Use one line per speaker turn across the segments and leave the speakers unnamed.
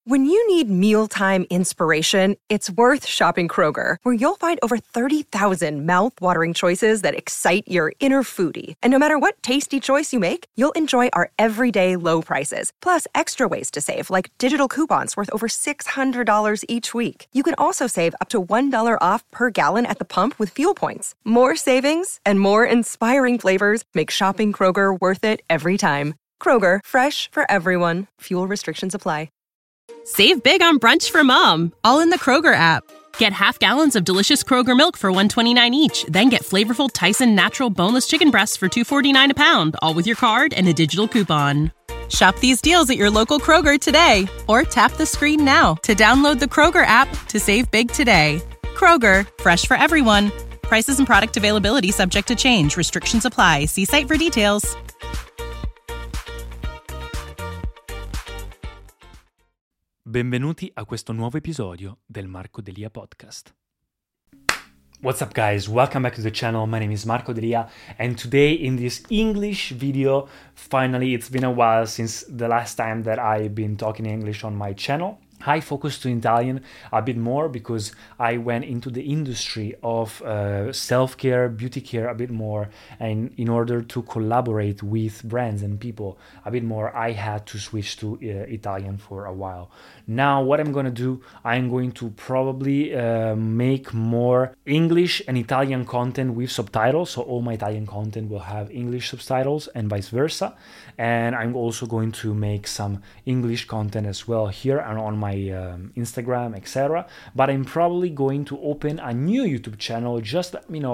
When you need mealtime inspiration, it's worth shopping Kroger, where you'll find over 30,000 mouth-watering choices that excite your inner foodie. And no matter what tasty choice you make, you'll enjoy our everyday low prices, plus extra ways to save, like digital coupons worth over $600 each week. You can also save up to $1 off per gallon at the pump with fuel points. More savings and more inspiring flavors make shopping Kroger worth it every time. Kroger, fresh for everyone. Fuel restrictions apply.
Save big on brunch for mom, all in the Kroger app. Get half gallons of delicious Kroger milk for $1.29 each. Then get flavorful Tyson natural boneless chicken breasts for $2.49 a pound, all with your card and a digital coupon. Shop these deals at your local Kroger today, or tap the screen now to download the Kroger app to save big today. Kroger, fresh for everyone. Prices and product availability subject to change. Restrictions apply. See site for details.
Benvenuti a questo nuovo episodio del Marco Delia Podcast. What's up guys, welcome back to the channel. My name is Marco Delia, and today in this English video, finally it's been a while since the last time that I've been talking English on my channel. I focused to Italian a bit more because I went into the industry of self-care, beauty care a bit more, and in order to collaborate with brands and people a bit more, I had to switch to Italian for a while. Now what I'm gonna do, I'm going to probably make more English and Italian content with subtitles, so all my Italian content will have English subtitles and vice versa, and I'm also going to make some English content as well here and on my Instagram, etc. But I'm probably going to open a new YouTube channel just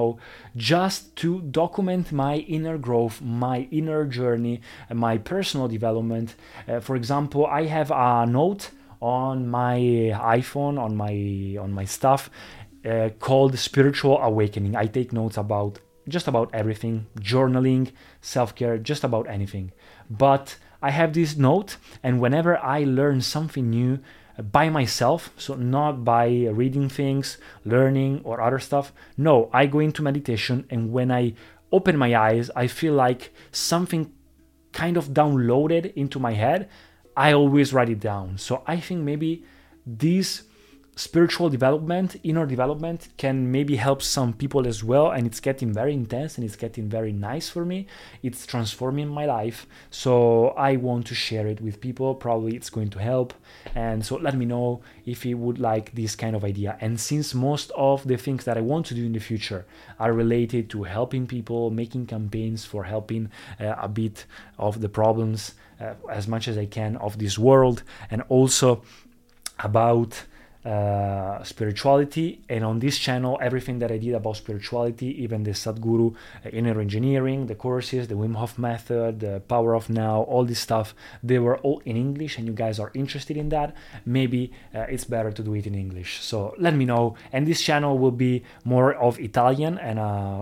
to document my inner growth, my inner journey, and my personal development. For example, I have a note on my iPhone, on my stuff, called Spiritual Awakening. I take notes about just about everything, journaling, self-care, just about anything. But I have this note, and whenever I learn something new by myself, so not by reading things, learning or other stuff, no, I go into meditation, and when I open my eyes, I feel like something kind of downloaded into my head. I always write it down. So I think maybe this spiritual development, inner development, can maybe help some people as well, and it's getting very intense and it's getting very nice for me. It's transforming my life, so I want to share it with people. Probably it's going to help, and so let me know if you would like this kind of idea. And since most of the things that I want to do in the future are related to helping people, making campaigns for helping a bit of the problems as much as I can of this world, and also about spirituality, and on this channel everything that I did about spirituality, even the Sadhguru inner engineering, the courses, the Wim Hof method, the Power of Now, all this stuff, they were all in English, and you guys are interested in that. Maybe it's better to do it in English, so let me know. And this channel will be more of Italian and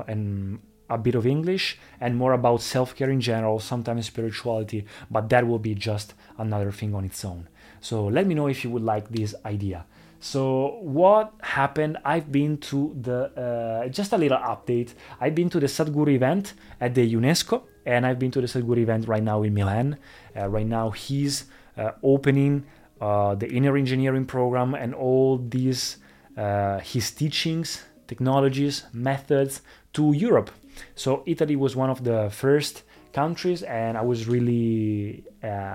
a bit of English, and more about self-care in general, sometimes spirituality, but that will be just another thing on its own. So let me know if you would like this idea. So what happened? I've been to the, just a little update, I've been to the Sadhguru event at the UNESCO, and I've been to the Sadhguru event right now in Milan. Right now he's opening the inner engineering program and all these, his teachings, technologies, methods to Europe. So Italy was one of the first countries, and I was really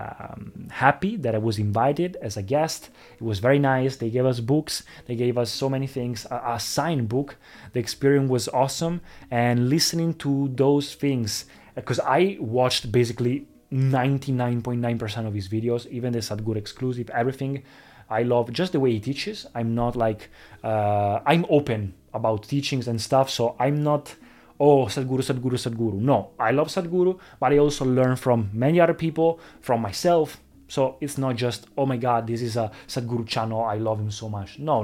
happy that I was invited as a guest. It was very nice. They gave us books, they gave us so many things, a signed book. The experience was awesome, and listening to those things, because I watched basically 99.9% of his videos, even the Sadhguru exclusive, everything. I love just the way he teaches. I'm not like I'm open about teachings and stuff, so I'm not Sadhguru. No, I love Sadhguru, but I also learn from many other people, from myself. So it's not just, oh my God, this is a Sadhguru channel, I love him so much. No.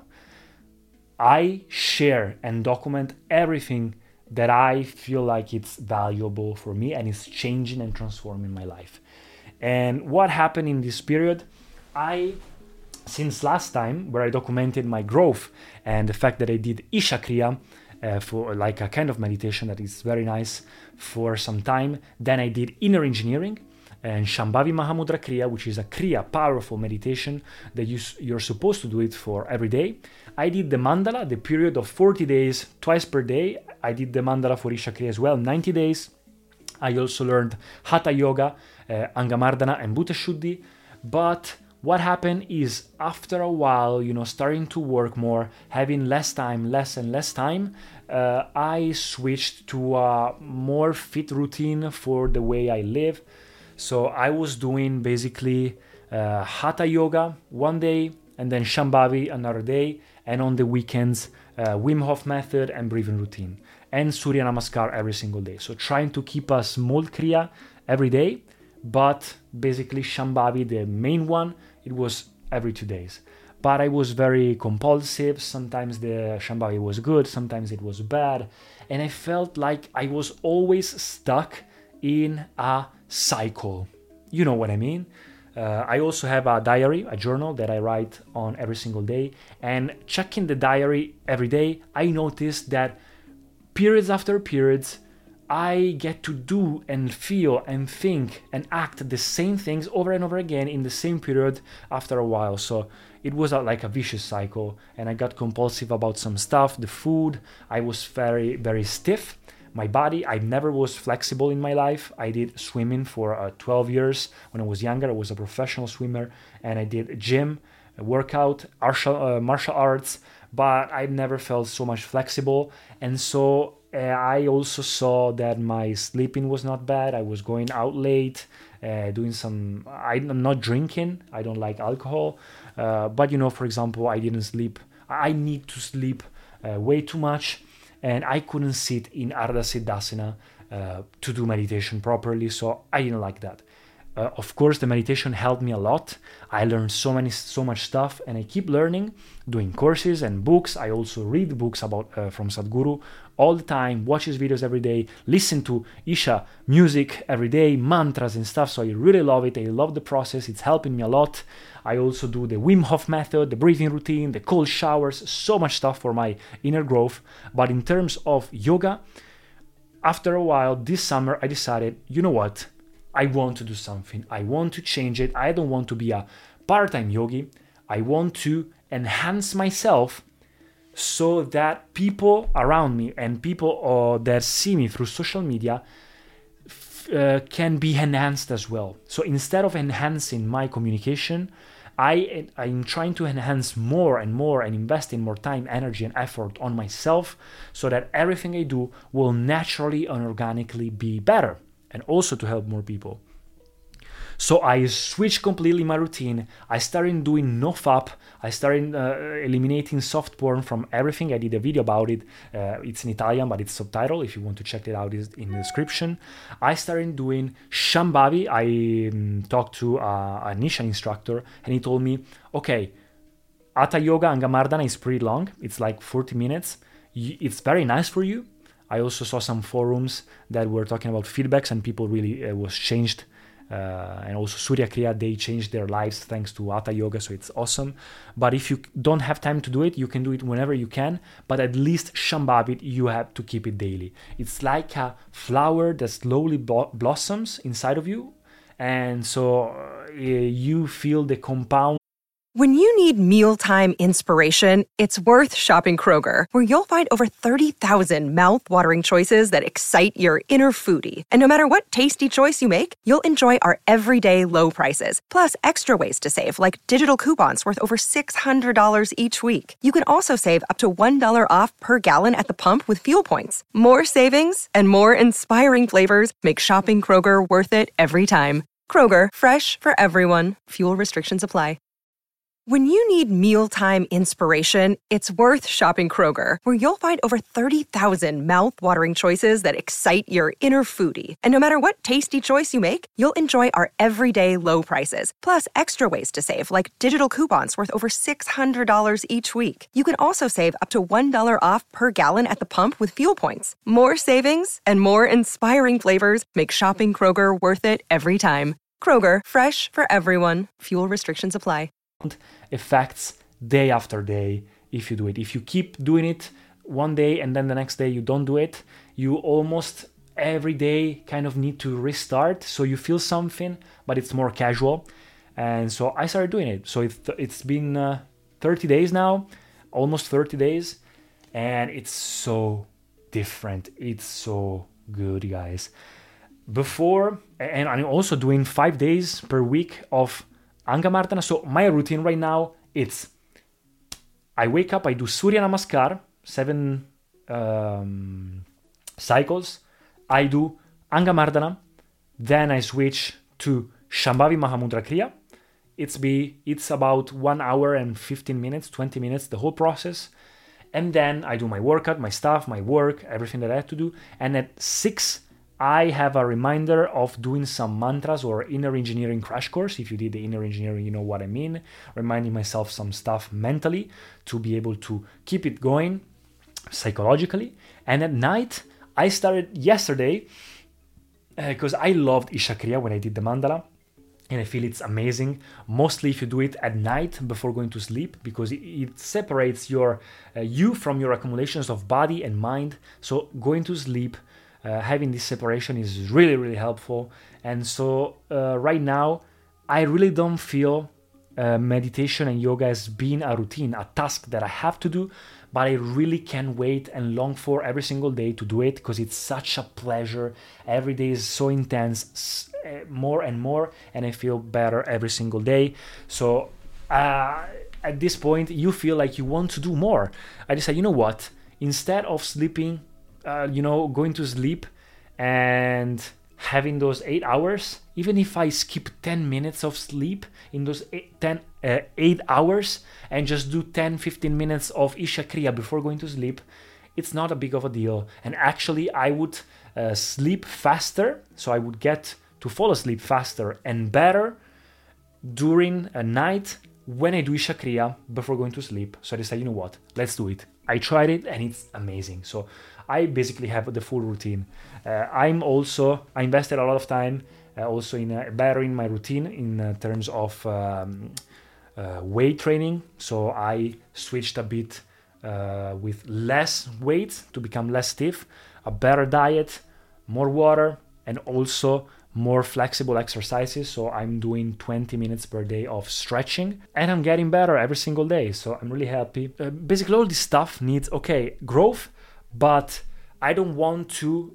I share and document everything that I feel like it's valuable for me and it's changing and transforming my life. And what happened in this period, since last time where I documented my growth and the fact that I did Isha Kriya, for like a kind of meditation that is very nice for some time. Then I did inner engineering, and Shambhavi Mahamudra Kriya, which is a Kriya, powerful meditation that you're supposed to do it for every day. I did the mandala, the period of 40 days, twice per day. I did the mandala for Isha Kriya as well, 90 days. I also learned Hatha Yoga, Angamardana and Bhuta Shuddhi. But what happened is after a while, starting to work more, having less and less time, I switched to a more fit routine for the way I live. So I was doing basically Hatha Yoga one day and then Shambhavi another day, and on the weekends Wim Hof method and breathing routine and Surya Namaskar every single day. So trying to keep a small Kriya every day, but basically Shambhavi, the main one, it was every 2 days. But I was very compulsive. Sometimes the Shambhavi was good, sometimes it was bad, and I felt like I was always stuck in a cycle. You know what I mean? I also have a diary, a journal that I write on every single day, and checking the diary every day, I noticed that periods after periods, I get to do and feel and think and act the same things over and over again in the same period after a while. So it was like a vicious cycle, and I got compulsive about some stuff. The food, I was very, very stiff. My body, I never was flexible in my life. I did swimming for 12 years. When I was younger, I was a professional swimmer, and I did gym, workout, martial arts, but I never felt so much flexible. And so I also saw that my sleeping was not bad. I was going out late, I'm not drinking. I don't like alcohol. But, for example, I didn't sleep. I need to sleep way too much. And I couldn't sit in Ardha Siddhasana to do meditation properly, so I didn't like that. Of course, the meditation helped me a lot. I learned so much stuff, and I keep learning, doing courses and books. I also read books about from Sadhguru all the time, watch his videos every day, listen to Isha music every day, mantras and stuff. So I really love it. I love the process. It's helping me a lot. I also do the Wim Hof method, the breathing routine, the cold showers, so much stuff for my inner growth. But in terms of yoga, after a while, this summer, I decided, you know what? I want to do something. I want to change it. I don't want to be a part-time yogi. I want to enhance myself so that people around me and people that see me through social media can be enhanced as well. So instead of enhancing my communication, I'm trying to enhance more and more and invest in more time, energy, and effort on myself so that everything I do will naturally and organically be better, and also to help more people. So I switched completely my routine. I started doing no FAP. I started eliminating soft porn from everything. I did a video about it. It's in Italian, but it's subtitled. If you want to check it out, it's in the description. I started doing Shambhavi. I talked to an Isha instructor, and he told me, okay, Hatha Yoga Angamardana is pretty long. It's like 40 minutes. It's very nice for you. I also saw some forums that were talking about feedbacks, and people really was changed. And also Surya Kriya, they changed their lives thanks to Hatha Yoga, so it's awesome. But if you don't have time to do it, you can do it whenever you can, but at least Shambhavi, you have to keep it daily. It's like a flower that slowly blossoms inside of you, and so you feel the compound.
When you need mealtime inspiration, it's worth shopping Kroger, where you'll find over 30,000 mouth-watering choices that excite your inner foodie. And no matter what tasty choice you make, you'll enjoy our everyday low prices, plus extra ways to save, like digital coupons worth over $600 each week. You can also save up to $1 off per gallon at the pump with fuel points. More savings and more inspiring flavors make shopping Kroger worth it every time. Kroger, fresh for everyone. Fuel restrictions apply. When you need mealtime inspiration, it's worth shopping Kroger, where you'll find over 30,000 mouth-watering choices that excite your inner foodie. And no matter what tasty choice you make, you'll enjoy our everyday low prices, plus extra ways to save, like digital coupons worth over $600 each week. You can also save up to $1 off per gallon at the pump with fuel points. More savings and more inspiring flavors make shopping Kroger worth it every time. Kroger, fresh for everyone. Fuel restrictions apply.
Effects day after day if you do it. If you keep doing it one day and then the next day you don't do it, you almost every day kind of need to restart, so you feel something, but it's more casual. And so I started doing it. So it's been 30 days now, almost 30 days, and it's so different. It's so good, guys. Before, and I'm also doing 5 days per week of Angamardana. So my routine right now, it's I wake up, I do Surya Namaskar, 7 cycles. I do Angamardana, then I switch to Shambhavi Mahamudra Kriya. It's about 1 hour and 15 minutes, 20 minutes, the whole process. And then I do my workout, my stuff, my work, everything that I have to do. And at 6, I have a reminder of doing some mantras or inner engineering crash course. If you did the inner engineering, you know what I mean. Reminding myself some stuff mentally to be able to keep it going psychologically. And at night, I started yesterday because I loved Isha Kriya when I did the mandala. And I feel it's amazing, mostly if you do it at night before going to sleep, because it separates you from your accumulations of body and mind. So going to sleep, having this separation is really, really helpful. And so right now, I really don't feel meditation and yoga as being a routine, a task that I have to do, but I really can't wait and long for every single day to do it because it's such a pleasure. Every day is so intense, more and more, and I feel better every single day. So at this point, you feel like you want to do more. I decided, you know what? Instead of sleeping, going to sleep and having those 8 hours, even if I skip 10 minutes of sleep in those 8 hours and just do 10-15 minutes of Isha Kriya before going to sleep, it's not a big of a deal. And actually, I would sleep faster, so I would get to fall asleep faster and better during a night when I do Isha Kriya before going to sleep. So I decided, you know what, let's do it. I tried it and it's amazing. So I basically have the full routine. I invested a lot of time also in bettering my routine in terms of weight training. So I switched a bit with less weight to become less stiff, a better diet, more water, and also more flexible exercises. So I'm doing 20 minutes per day of stretching and I'm getting better every single day. So I'm really happy. Basically all this stuff needs, growth, but I don't want to,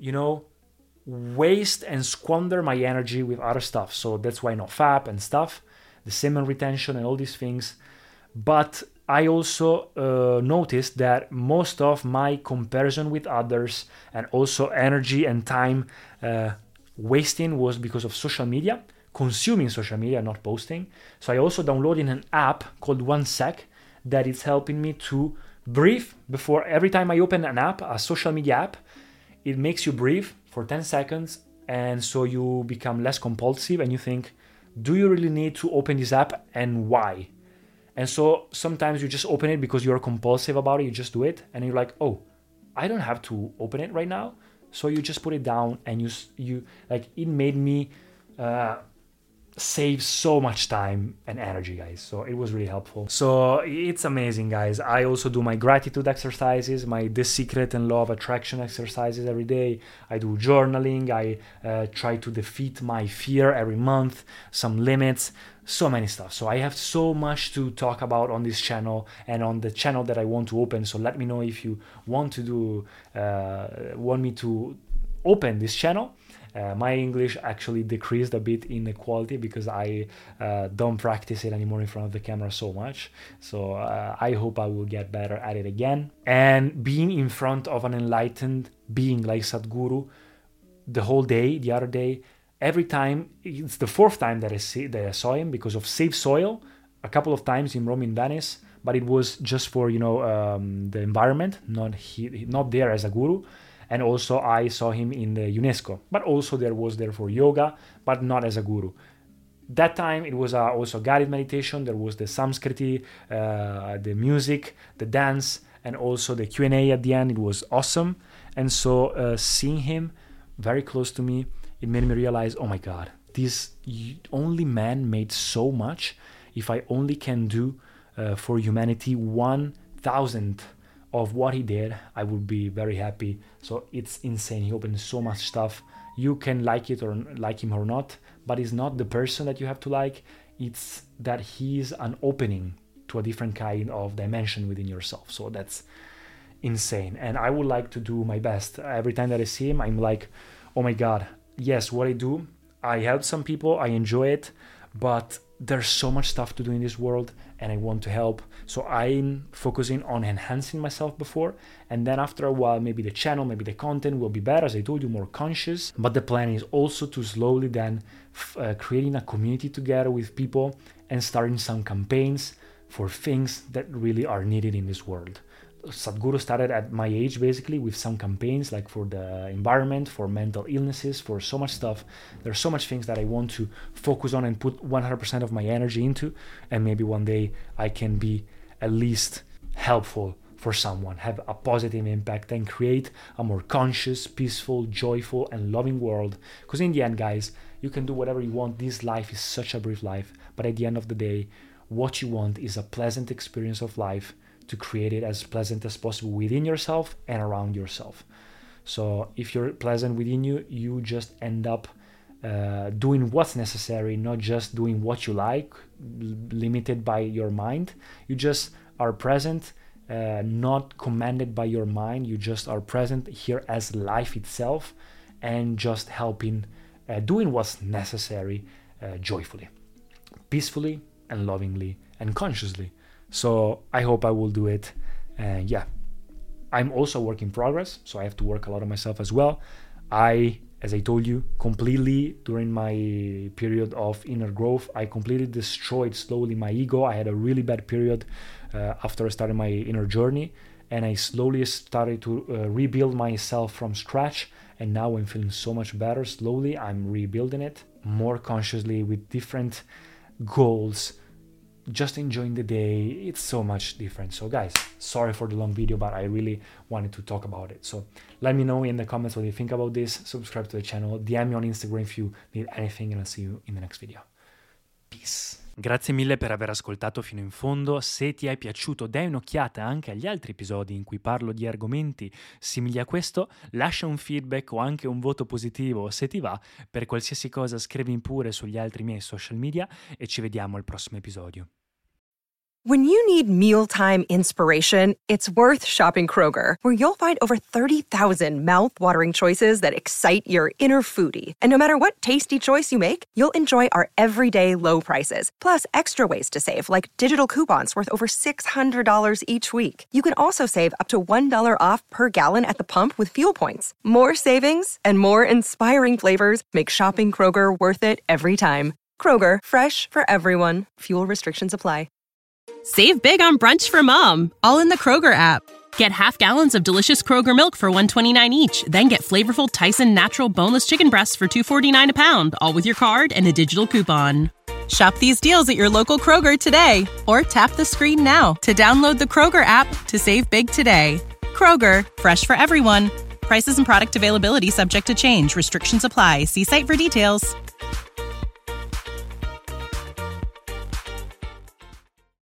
waste and squander my energy with other stuff. So that's why NoFap and stuff, the semen retention and all these things. But I also noticed that most of my comparison with others and also energy and time wasting was because of social media, consuming social media, not posting. So I also downloaded an app called 1 Sec that is helping me to breathe before every time I open an app, a social media app. It makes you breathe for 10 seconds, and so you become less compulsive and you think, do you really need to open this app and why? And so sometimes you just open it because you're compulsive about it, you just do it, and you're like, oh, I don't have to open it right now. So you just put it down, and you it made me save so much time and energy, guys. So it was really helpful. So it's amazing, guys. I also do my gratitude exercises, my The Secret and Law of Attraction exercises every day. I do journaling. I try to defeat my fear every month, some limits, so many stuff. So I have so much to talk about on this channel and on the channel that I want to open. So let me know if you want me to open this channel. My English actually decreased a bit in the quality because I don't practice it anymore in front of the camera so much. So I hope I will get better at it again. And being in front of an enlightened being like Sadhguru the whole day, the other day, every time, it's the 4th time that I saw him because of Save Soil, a couple of times in Rome, in Venice, but it was just for, the environment, not there as a guru. And also I saw him in the UNESCO, but also was there for yoga, but not as a guru. That time it was also guided meditation. There was the Samskriti, the music, the dance, and also the Q&A at the end. It was awesome. And so seeing him very close to me, it made me realize, oh my God, this only man made so much. If I only can do for humanity 1,000th of what he did, I would be very happy. So it's insane. He opened so much stuff. You can like it or like him or not, but it's not the person that you have to like. It's that he's an opening to a different kind of dimension within yourself. So that's insane. And I would like to do my best. Every time that I see him, I'm like, oh my God, yes, what I do, I help some people, I enjoy it, but there's so much stuff to do in this world and I want to help. So I'm focusing on enhancing myself before, and then after a while, maybe the channel, maybe the content will be better, as I told you, more conscious. But the plan is also to slowly then creating a community together with people and starting some campaigns for things that really are needed in this world. Sadhguru started at my age, basically, with some campaigns like for the environment, for mental illnesses, for so much stuff. There's so much things that I want to focus on and put 100% of my energy into, and maybe one day I can be at least helpful for someone, have a positive impact, and create a more conscious, peaceful, joyful, and loving world. Because in the end, guys, you can do whatever you want. This life is such a brief life, but at the end of the day, what you want is a pleasant experience of life, to create it as pleasant as possible within yourself and around yourself. So if you're pleasant within you, you just end up doing what's necessary, not just doing what you like, limited by your mind. You just are present, not commanded by your mind. You just are present here as life itself, and just helping, doing what's necessary joyfully, peacefully, and lovingly, and consciously. So I hope I will do it. And yeah, I'm also a work in progress, so I have to work a lot on myself as well. As I told you, completely during my period of inner growth, I completely destroyed slowly my ego. I had a really bad period after I started my inner journey, and I slowly started to rebuild myself from scratch. And now I'm feeling so much better. Slowly, I'm rebuilding it more consciously with different goals, just enjoying the day. It's so much different. So guys, sorry for the long video, but I really wanted to talk about it. So let me know in the comments what you think about this. Subscribe to the channel, DM me on Instagram if you need anything, and I'll see you in the next video. Peace. Grazie mille per aver ascoltato fino in fondo. Se ti è piaciuto, dai un'occhiata anche agli altri episodi in cui parlo di argomenti simili a questo, lascia un feedback o anche un voto positivo se ti va. Per qualsiasi cosa scrivimi pure sugli altri miei social media e ci vediamo al prossimo episodio.
When you need mealtime inspiration, it's worth shopping Kroger, where you'll find over 30,000 mouth-watering choices that excite your inner foodie. And no matter what tasty choice you make, you'll enjoy our everyday low prices, plus extra ways to save, like digital coupons worth over $600 each week. You can also save up to $1 off per gallon at the pump with fuel points. More savings and more inspiring flavors make shopping Kroger worth it every time. Kroger, fresh for everyone. Fuel restrictions apply.
Save big on brunch for mom, all in the Kroger app. Get half gallons of delicious Kroger milk for $1.29 each. Then get flavorful Tyson natural boneless chicken breasts for $2.49 a pound, all with your card and a digital coupon. Shop these deals at your local Kroger today, or tap the screen now to download the Kroger app to save big today. Kroger, fresh for everyone. Prices and product availability subject to change. Restrictions apply. See site for details.